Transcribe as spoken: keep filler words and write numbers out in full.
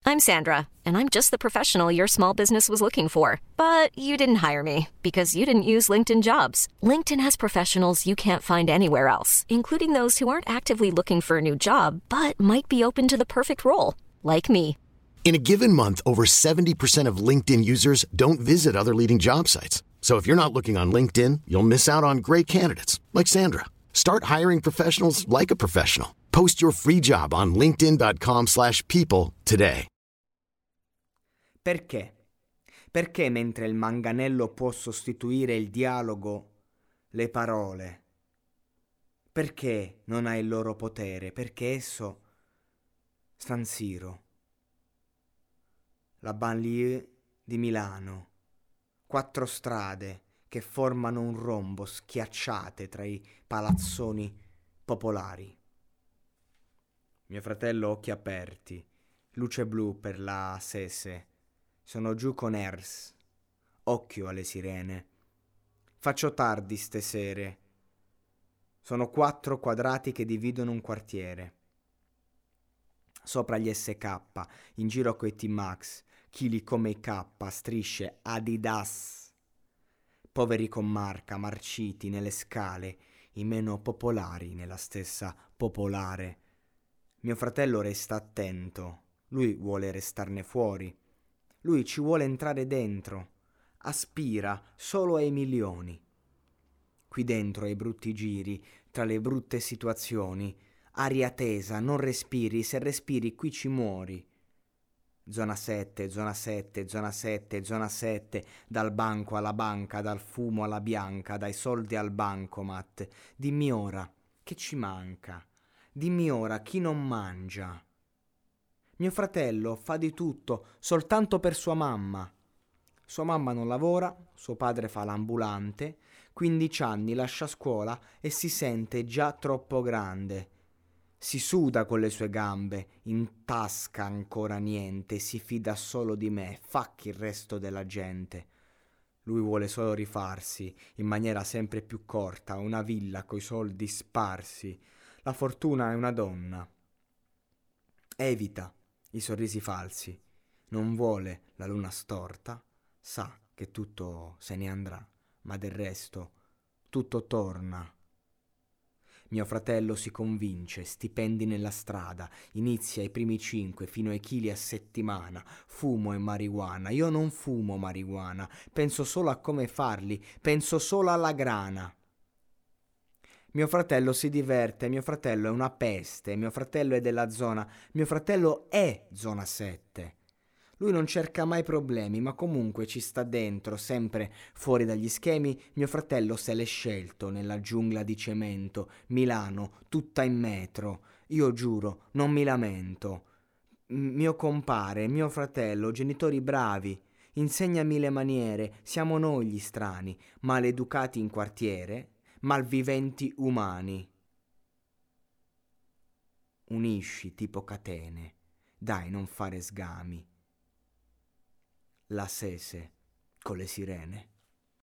I'm Sandra, and I'm just the professional your small business was looking for. But you didn't hire me because you didn't use LinkedIn Jobs. LinkedIn has professionals you can't find anywhere else, including those who aren't actively looking for a new job, but might be open to the perfect role, like me. In a given month, over seventy percent of LinkedIn users don't visit other leading job sites. So if you're not looking on LinkedIn, you'll miss out on great candidates like Sandra. Start hiring professionals like a professional. Post your free job on linkedin.com slash people today. Perché? Perché mentre il manganello può sostituire il dialogo, le parole? Perché non ha il loro potere? Perché esso, San Siro, la banlieue di Milano, quattro strade che formano un rombo schiacciate tra i palazzoni popolari. Mio fratello occhi aperti, luce blu per la Sese. Sono giù con Ers, occhio alle sirene. Faccio tardi stesere. Sono quattro quadrati che dividono un quartiere. Sopra gli S K, in giro coi T-Max, chili come i K, strisce Adidas. Poveri con marca, marciti nelle scale, i meno popolari nella stessa popolare. Mio fratello resta attento, lui vuole restarne fuori. Lui ci vuole entrare dentro, aspira solo ai milioni. Qui dentro ai brutti giri, tra le brutte situazioni, aria tesa, non respiri, se respiri qui ci muori. Zona sette, zona sette, zona sette, zona sette, dal banco alla banca, dal fumo alla bianca, dai soldi al bancomat. Dimmi ora, che ci manca? Dimmi ora, chi non mangia? Mio fratello fa di tutto soltanto per sua mamma. Sua mamma non lavora, suo padre fa l'ambulante, quindici anni lascia scuola e si sente già troppo grande. Si suda con le sue gambe, in tasca ancora niente, si fida solo di me, fuck il resto della gente. Lui vuole solo rifarsi, in maniera sempre più corta, una villa coi soldi sparsi. La fortuna è una donna. Evita i sorrisi falsi, non vuole la luna storta, sa che tutto se ne andrà, ma del resto tutto torna. Mio fratello si convince, stipendi nella strada, inizia i primi cinque fino ai chili a settimana, fumo e marijuana. Io non fumo marijuana, penso solo a come farli, penso solo alla grana. Mio fratello si diverte, mio fratello è una peste, mio fratello è della zona, mio fratello è zona sette. Lui non cerca mai problemi, ma comunque ci sta dentro, sempre fuori dagli schemi. Mio fratello se l'è scelto nella giungla di cemento, Milano, tutta in metro. Io giuro, non mi lamento. M- mio compare, mio fratello, genitori bravi, insegnami le maniere, siamo noi gli strani, maleducati in quartiere, malviventi umani. Unisci tipo catene, dai non fare sgami. La Sese con le sirene.